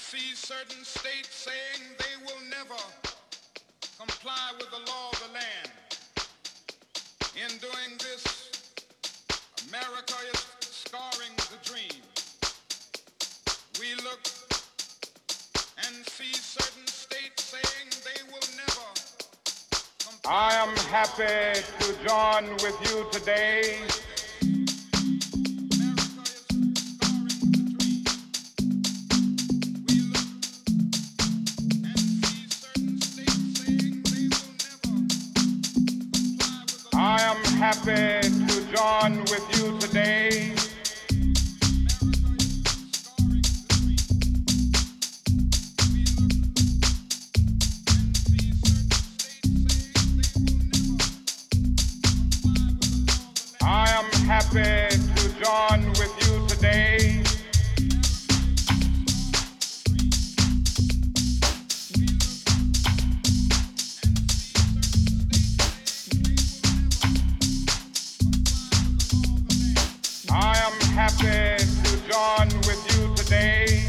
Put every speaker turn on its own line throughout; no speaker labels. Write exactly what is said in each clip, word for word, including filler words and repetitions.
see certain states saying they will never comply with the law of the land. In doing this, America is scarring the dream. We look and see certain states saying they will never comply.
I am happy to join with you today I am happy to join with you today I am happy to join with you today I am happy to join with you today.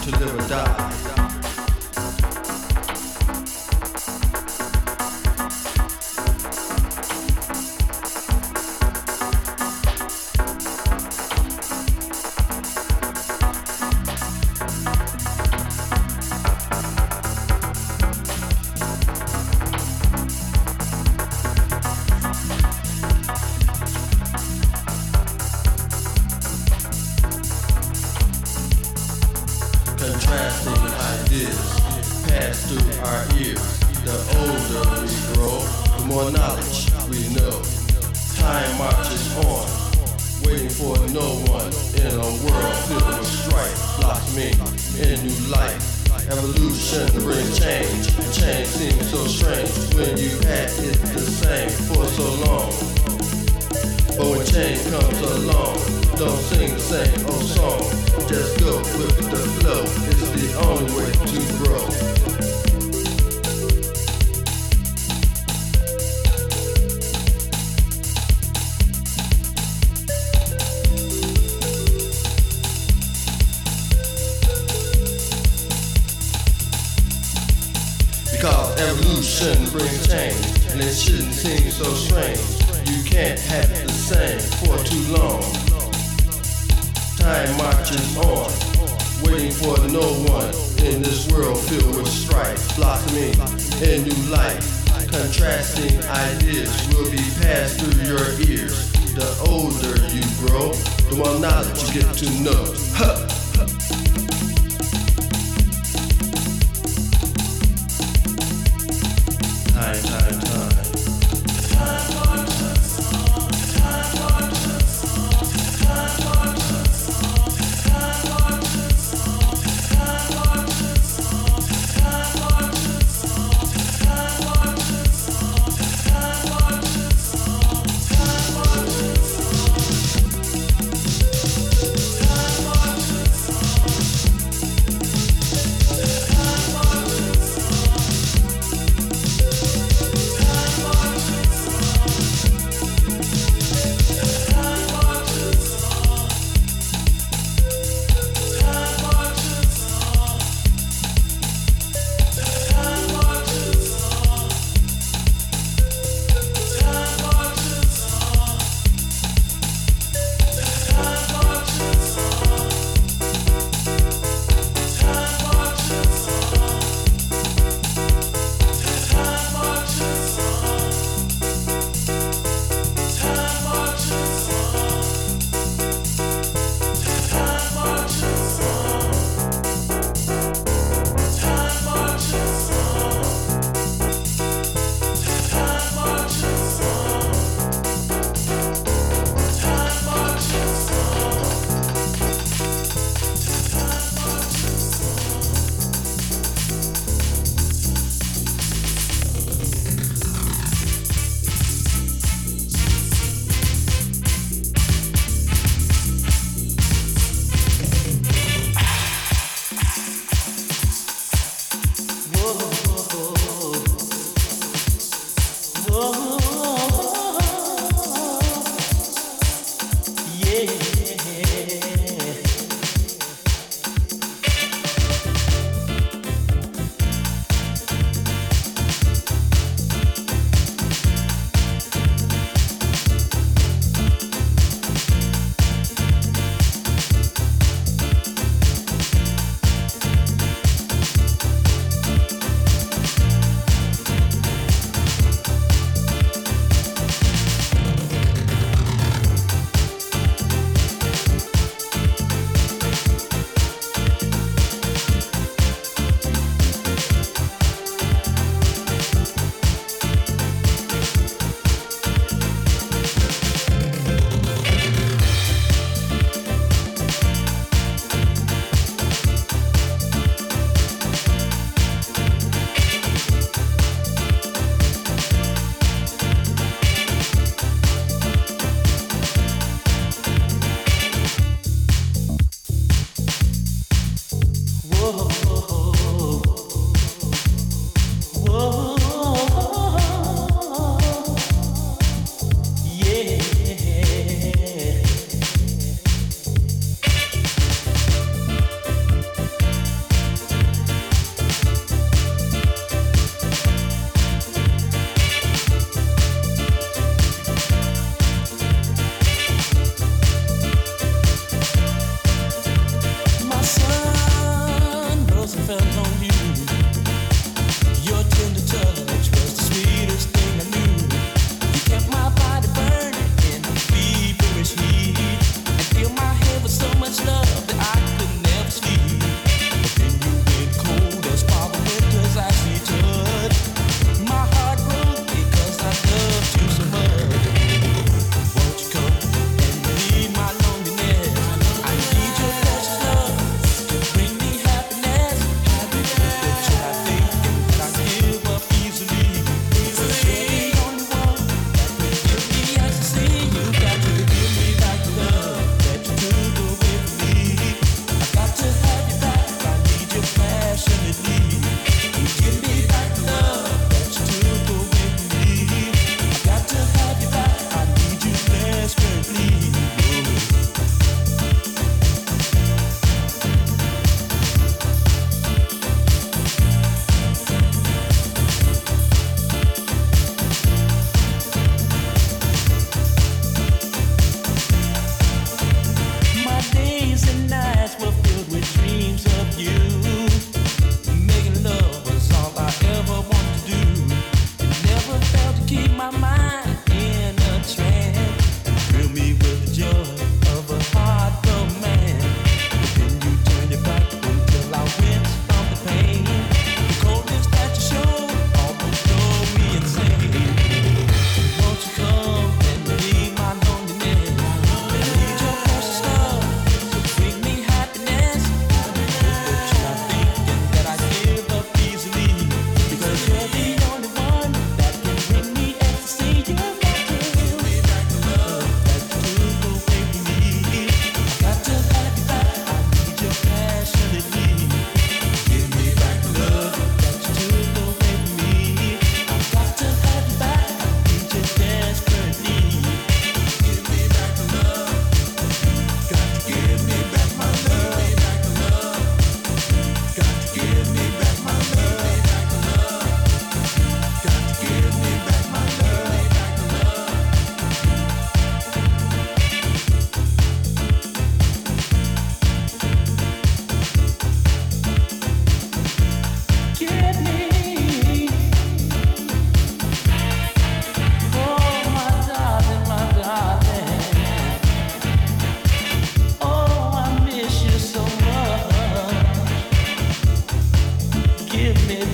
to live or die. Contrasting ideas pass through our ears. The older we grow, the more knowledge we know. Time marches on, waiting for no one in a world filled with strife, blossoming in new life. Evolution brings change, change seems so strange when you had it the same for so long. But when change comes along, don't sing the same old song. Just go with the flow, it's the only way to grow. Because evolution brings change, and it shouldn't seem so strange. You can't have it the same for too long. Time marches on, waiting for no one in this world filled with strife, blossoming in new life. Contrasting ideas will be passed through your ears. The older you grow, the more knowledge you get to know. Huh. Time, time, time.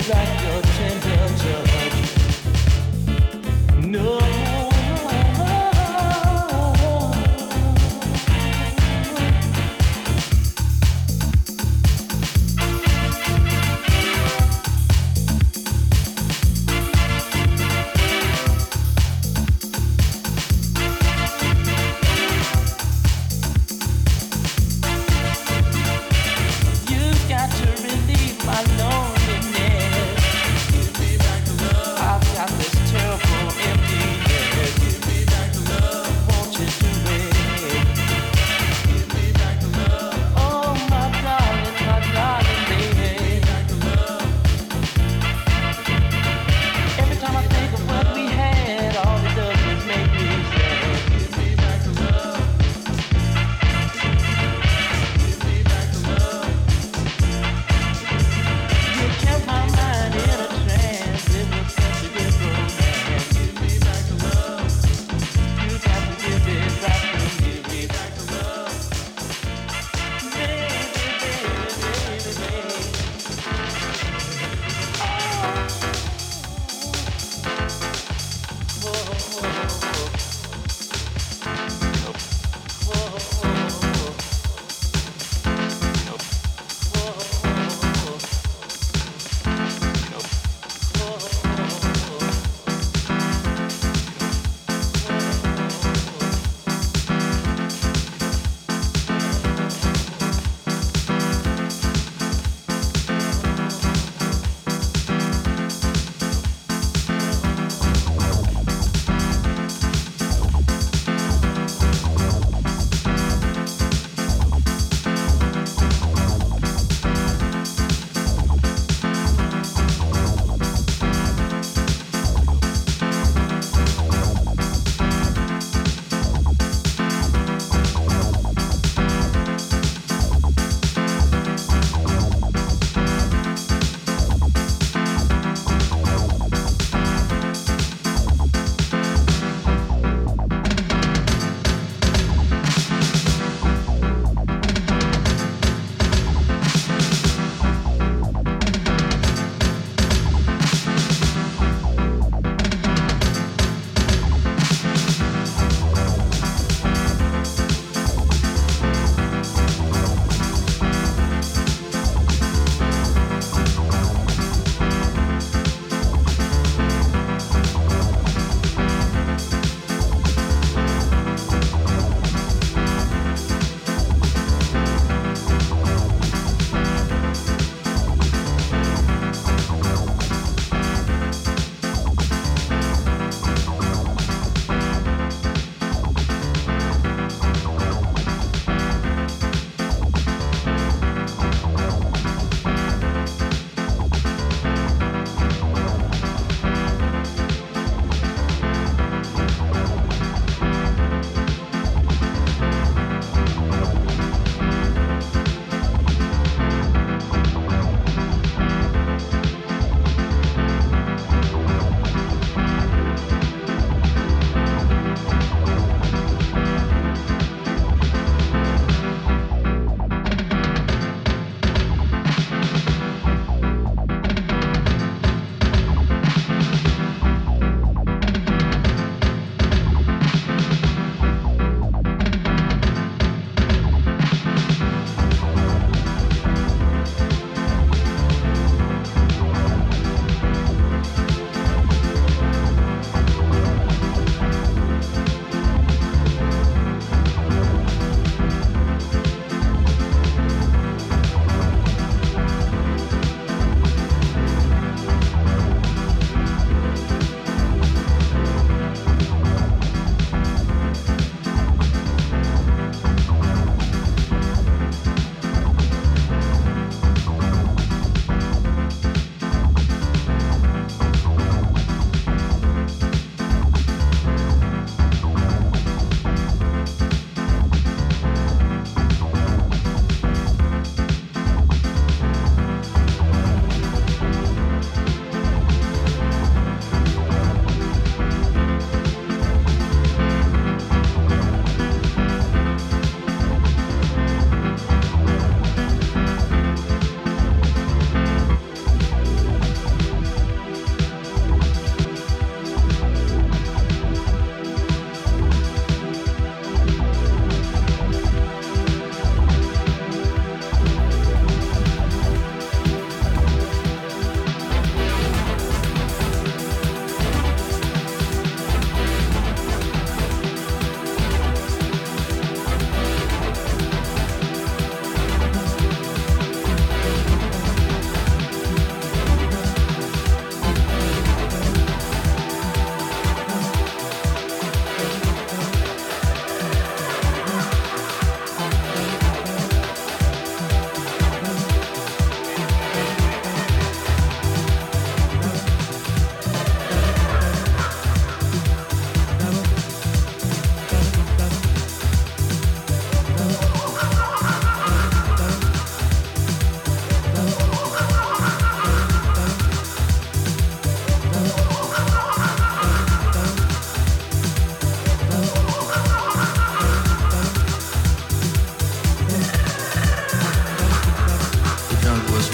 like your tender touch. No. You got to relieve my loneliness.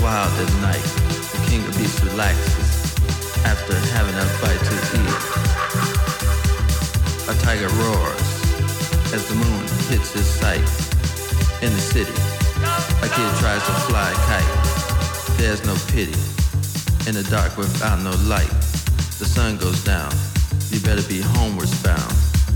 wild at night. The king of beasts relaxes after having a bite to eat. A tiger roars as the moon hits his sight. In the city, a kid tries to fly a kite. There's no pity in the dark without no light. The sun goes down, you better be homewards bound.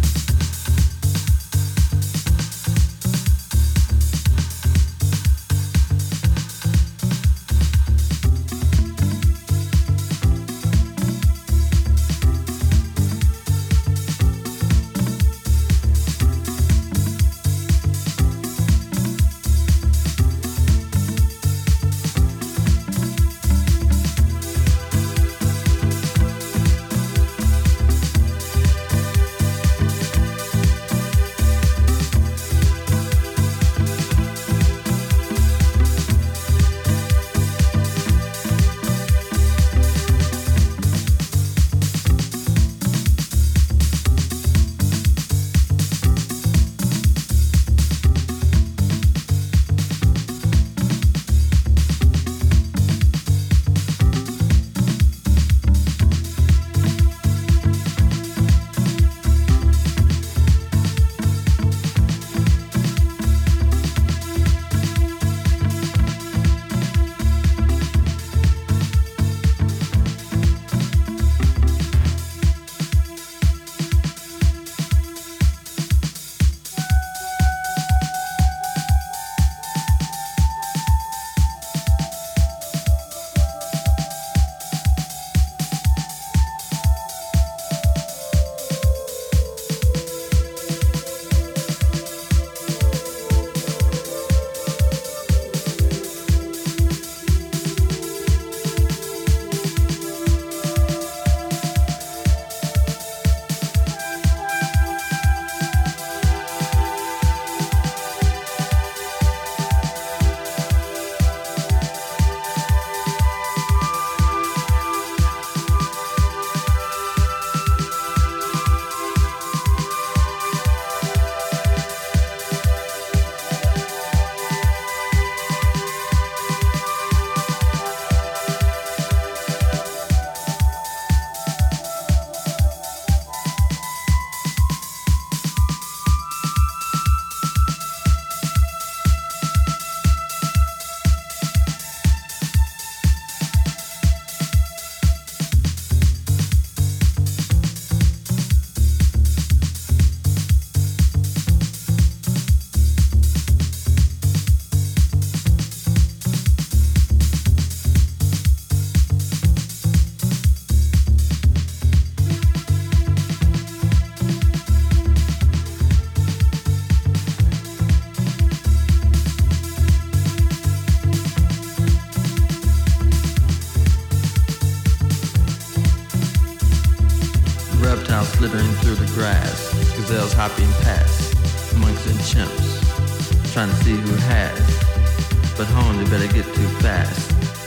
Slithering through the grass, gazelles hopping past, monks and chimps, trying to see who has, but home they better get too fast.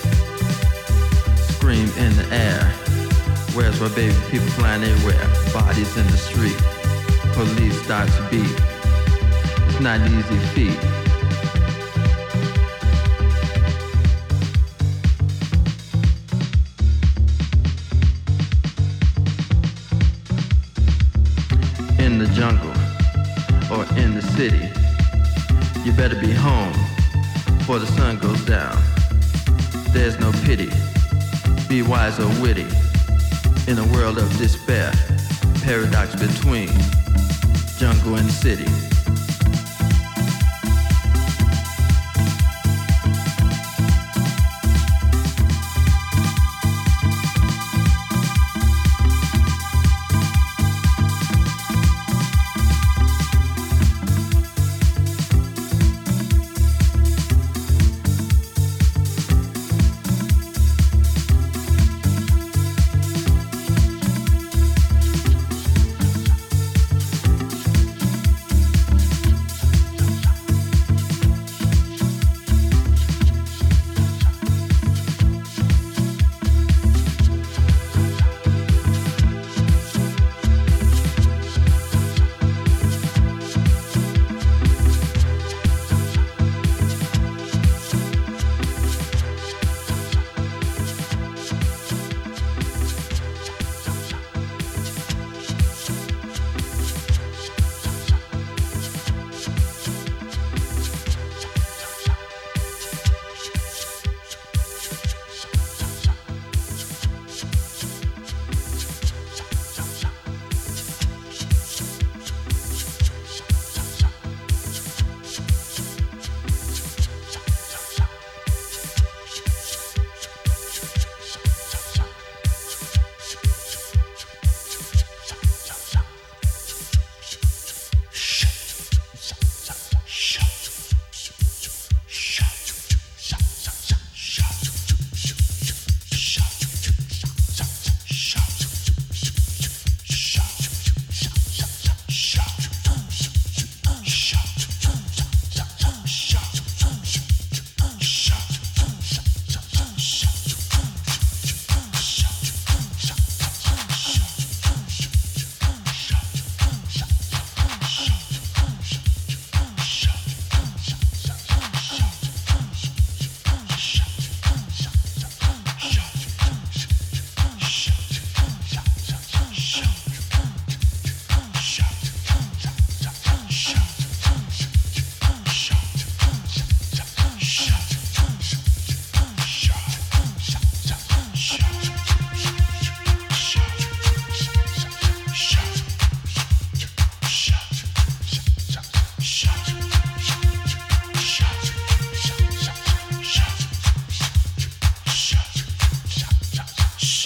Scream in the air, where's my baby? People flying everywhere, bodies in the street, police start to beat, it's not an easy feat. In the jungle or in the city, you better be home before the sun goes down. There's no pity, be wise or witty, in a world of despair, paradox between jungle and city.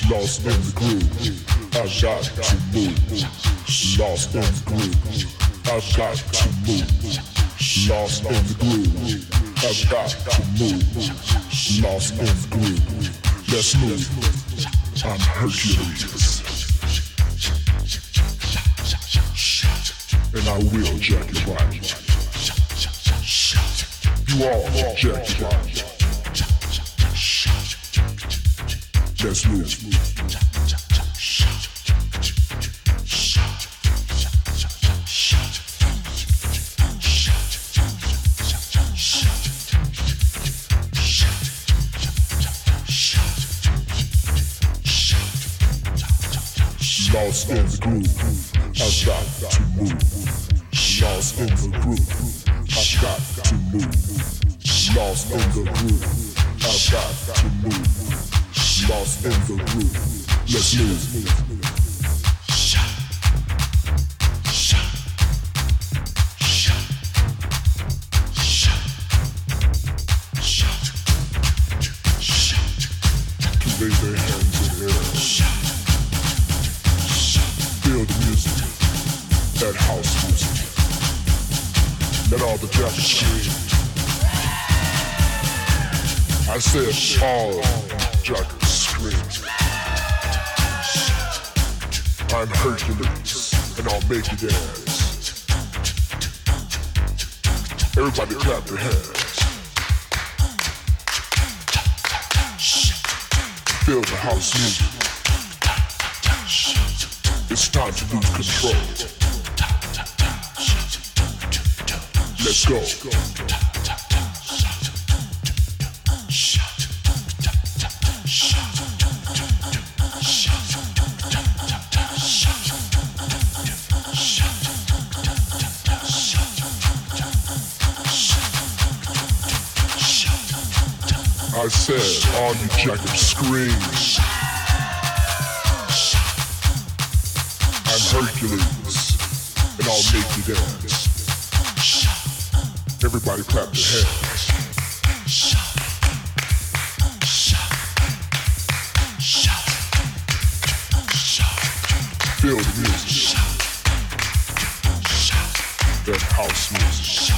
lost in the groove. I've got to move, lost in the groove. I've got to move, lost in the groove. I've got to move, lost in the groove. Let's move. I'm Hercules, and I will jack it right. You all jack it right. Let's move. Lost in the groove, I've got to move. Lost in the groove, I've got to move. Lost in the groove, I've got to move. Lost in the groove, let's move. Raise their hands in the air. Feel the music, that house music. Let all the jackets scream. I said all jackets scream. I'm Hercules, and I'll make you dance. Everybody clap their hands. Feel the house music. It's time to lose control. Let's go. I said, all you jackets scream. I'm Hercules, and I'll make you dance. Everybody clap their hands. Feel the music. That house music.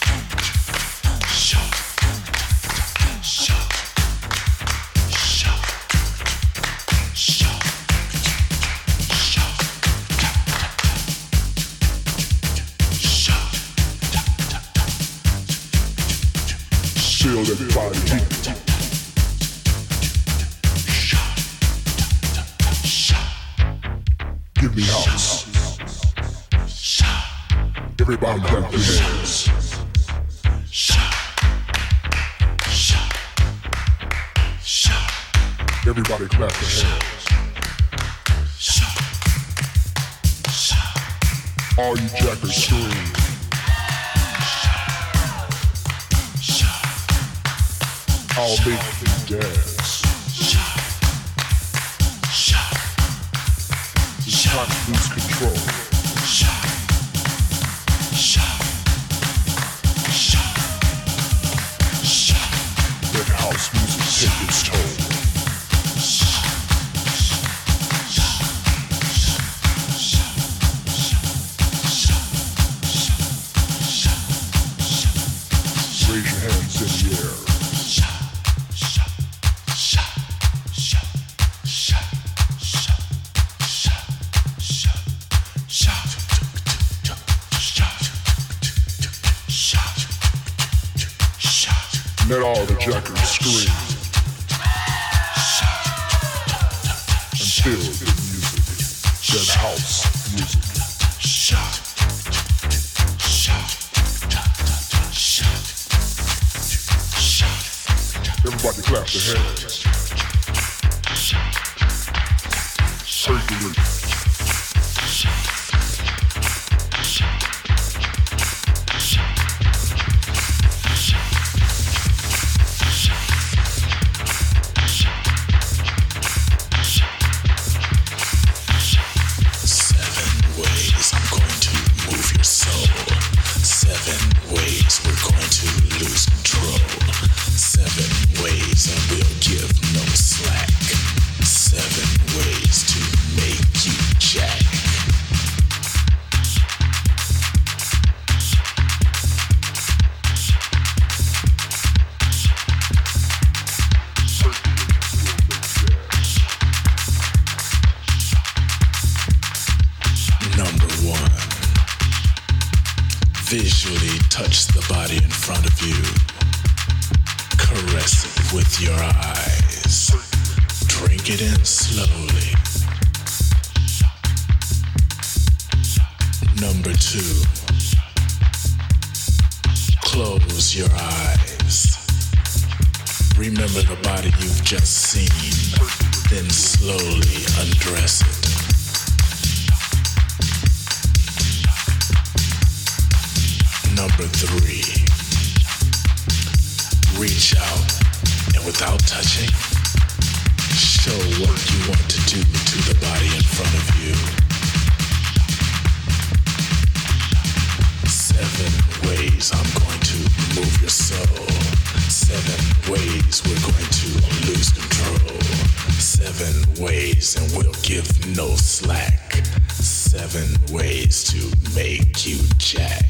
Feel that body heat. Give me house. Everybody clap their hands. Everybody clap their hands. All you jackers scream. I'll make you dance. It's time to lose control. Let house music take its toll. Raise your hands in the air. Let all the jackers scream and feel the music, that house music. Everybody clap their hands. Hercules.
Seven ways and we'll give no slack. Seven Touch the body in front of you. Caress it with your eyes. Drink it in slowly. Number two. Close your eyes. Remember the body you've just seen. Then slowly undress it. Number three, reach out and without touching, show what you want to do to the body in front of you. Seven ways I'm going to move your soul. Seven ways we're going to lose control. Seven ways and we'll give no slack. Seven ways to make you jack.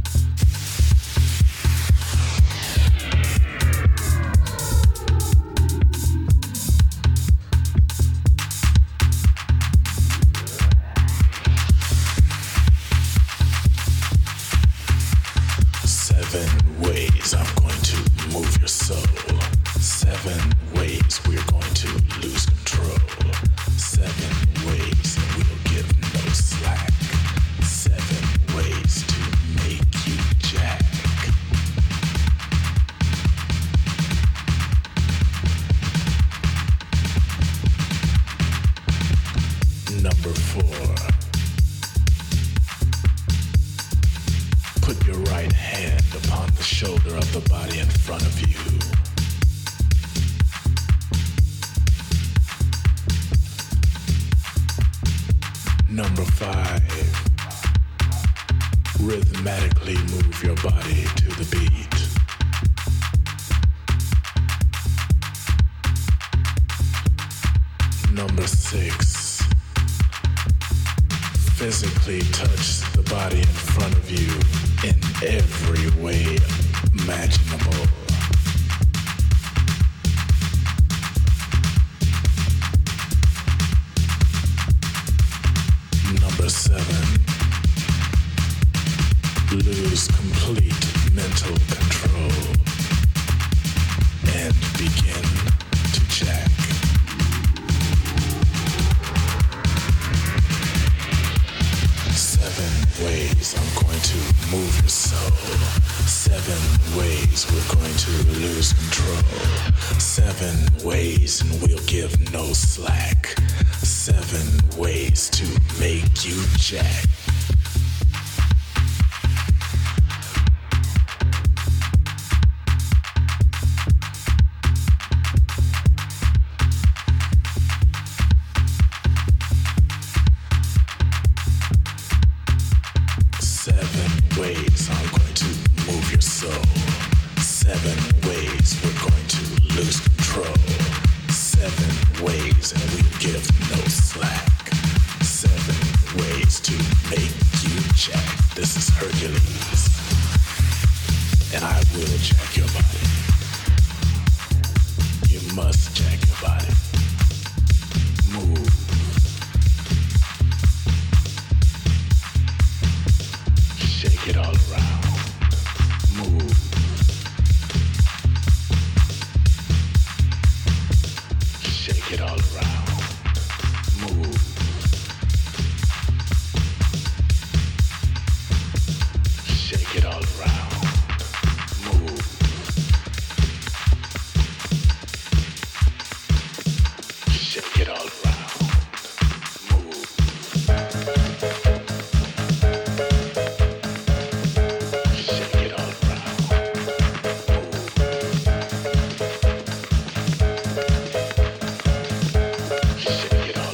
Seven ways I'm going to move your soul. Seven ways we're going to lose control. Seven ways and we'll give no slack. Seven ways to make you jack. Number four. Put your right hand upon the shoulder of the body in front of you. Number five, rhythmically move your body to the beat. Number six, physically touch the body in front of you in every way imaginable. Number seven, lose complete mental control and begin to jack. Seven ways I'm going to move your soul. Seven ways we're going to lose control. Seven ways and we'll give no slack. Seven ways to make you jack. Seven ways I'm going to move your soul. Seven ways we're going to lose control. Seven ways and we'll give no slack. Seven ways to make you jack. This is Hercules, and I will jack your body. You must jack your body. Move. Shake it all around. Move. Shake it all around. Move. Shake it all around. Move. Shake it all around. Move. Shake it all around. Shake it all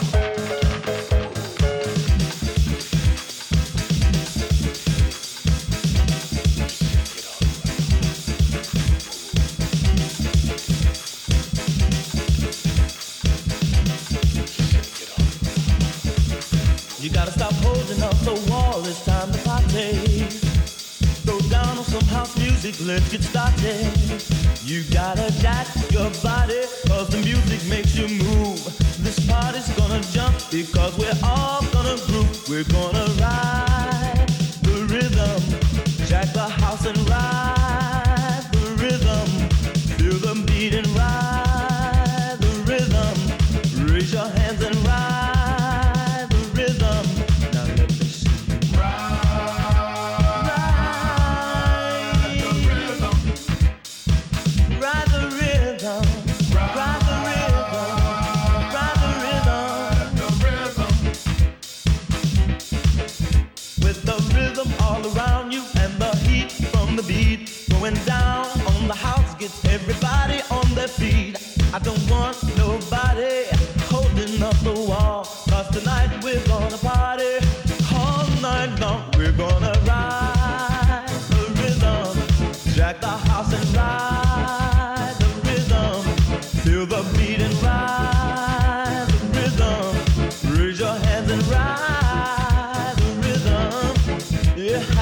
You gotta stop holding up the wall, it's time to party. Throw down on some house music, let's get started. You gotta jack your body, cause the music makes you move. This party's gonna jump, because we're all gonna groove. We're gonna ride the rhythm. Jack the house and ride the rhythm. Feel the beat and ride the rhythm. Raise your hands and ride the rhythm. Now let me see you ride, ride the rhythm. Ride the rhythm. Ride the rhythm. Ride the rhythm. With the rhythm all around you and the heat from the beat going down on the house gets everybody on their feet. I don't want nobody holding up the wall, 'cause tonight we're gonna party all night long. We're gonna ride the rhythm, jack the house and ride the rhythm. Feel the beat and ride the rhythm. Raise your hands and ride the rhythm. Yeah.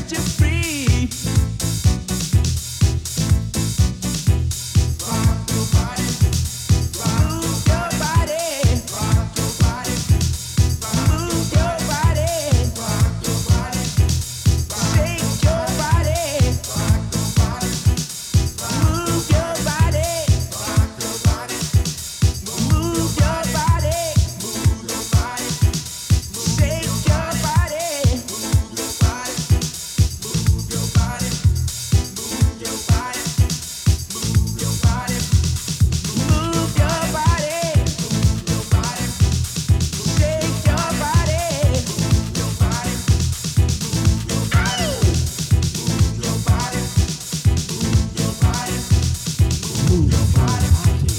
set you free. Rock your body, move your body, rock your body, move your body, rock your body, shake your body, rock your body, move your body, rock your body, move your body, move your body, shake your body, move your body, move your body, move your body, move your body, move your body, move your body, shake your body, move your body, move your body, move your body, move your body, move your body.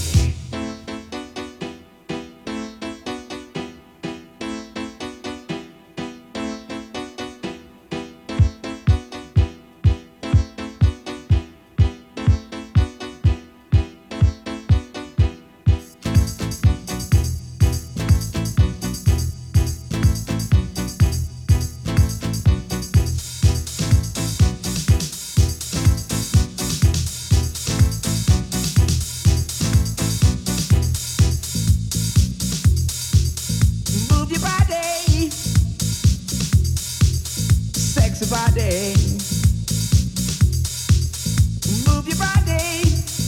Move your body, sexy body. Move your body,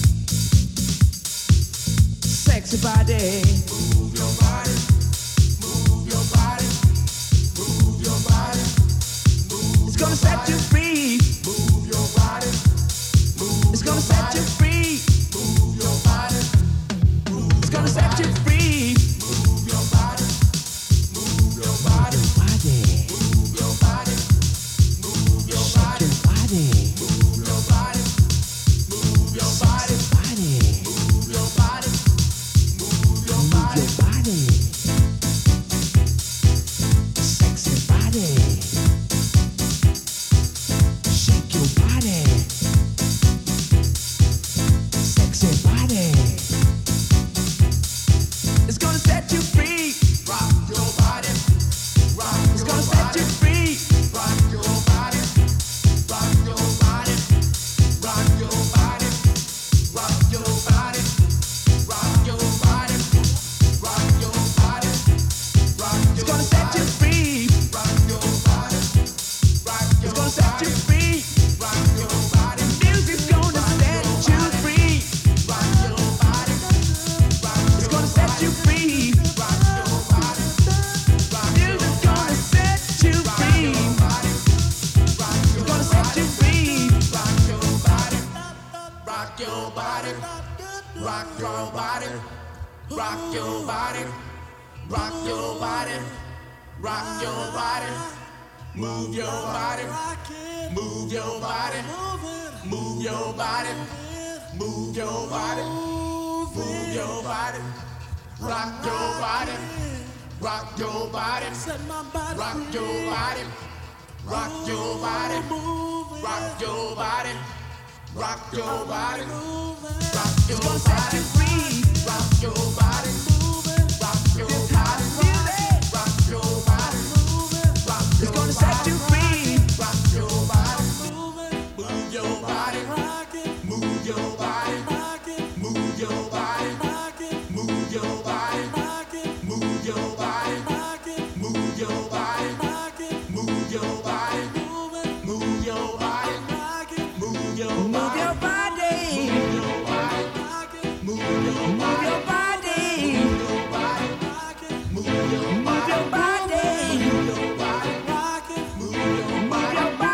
sexy body. Move your body, move your body, move your body. Move it's gonna set you free. Move your body, move it's gonna set you free. Move your body, it's gonna set you free. Move your body. Move your body, move your body, move your body, move your body, move your body, move your body, move your body, sexy body, shake your body, sexy body. It's gonna set you free. Rock your body. Rock it's gonna set you free. Rock your body. Rock your body. Rock your body. Rock your body. Rock your body. Rock your body. Rock your it's gonna set you free. Rock your body. Rock your it's gonna set you free. Rock your body. Music's gonna set you free. Rock your body. Rock it's gonna set you free. Rock your body. Music's gonna set you free. It's gonna set you free. Rock your body. Rock your body. Rock your body. Rock your body. Rock your body. Rock your body. Move your body. Move your body. Move your body. Move your body. Move your body. Rock your body. Rock your body. Rock your body. Rock your body. Rock your body. Rock your body. Rock your body. Set you free. Rock your body. Rock your body. Rock your body. Rock it's gonna set you free. Rock your body. Move your body. Move your body. Move your body. Move your body. Move your body. Move your body. Move your body. Move your body. Move your body. Move your body. Move your body. Move your body. Move your body. Move your body. Move your body. Move your body.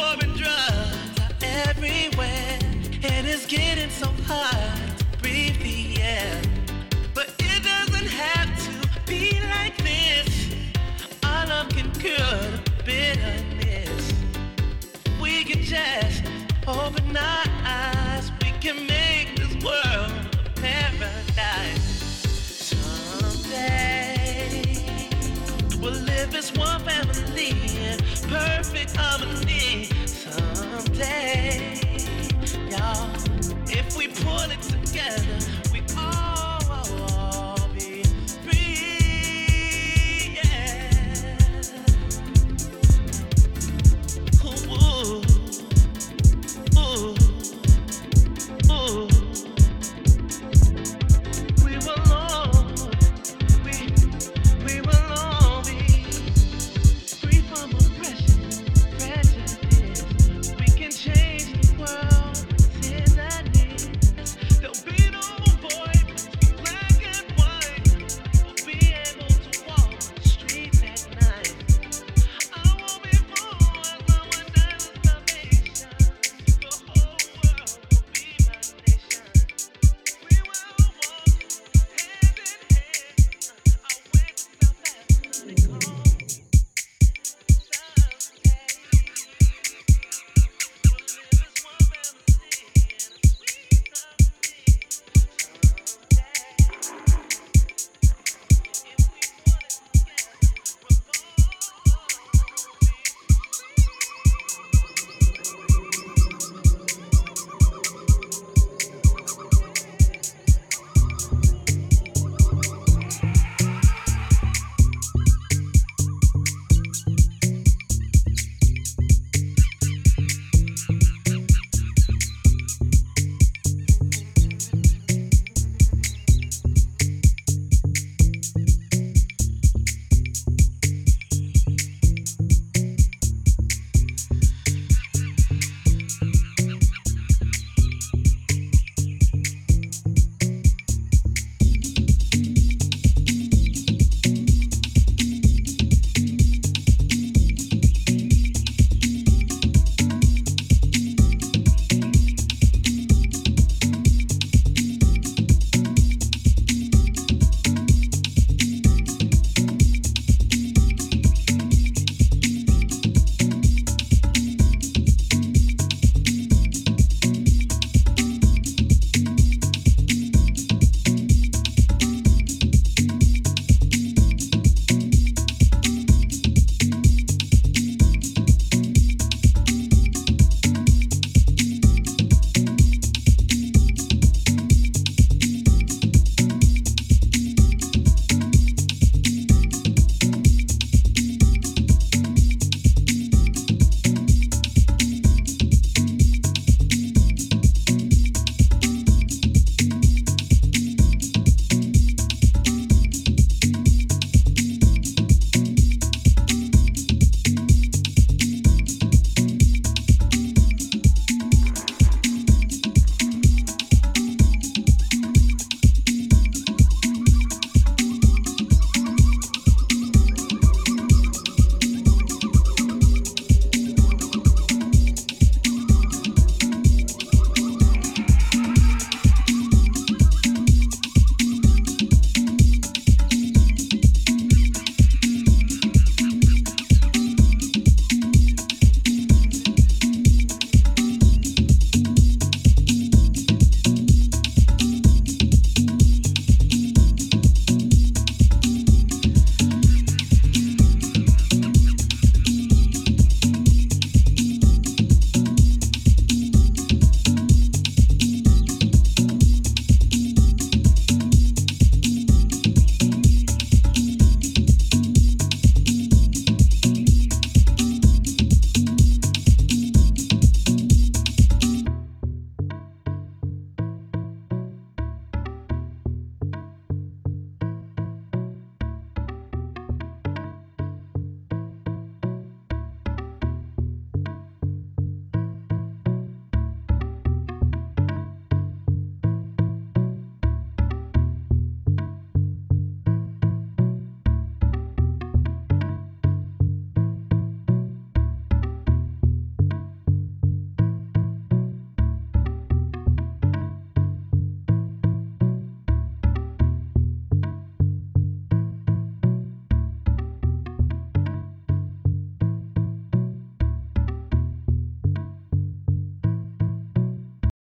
war and drugs are everywhere, and it's getting so hard to breathe the air. But it doesn't have to be like this. Our love can cure the bitterness. We can just open our eyes. We can make this world a paradise. Someday we'll live as one family in perfect harmony.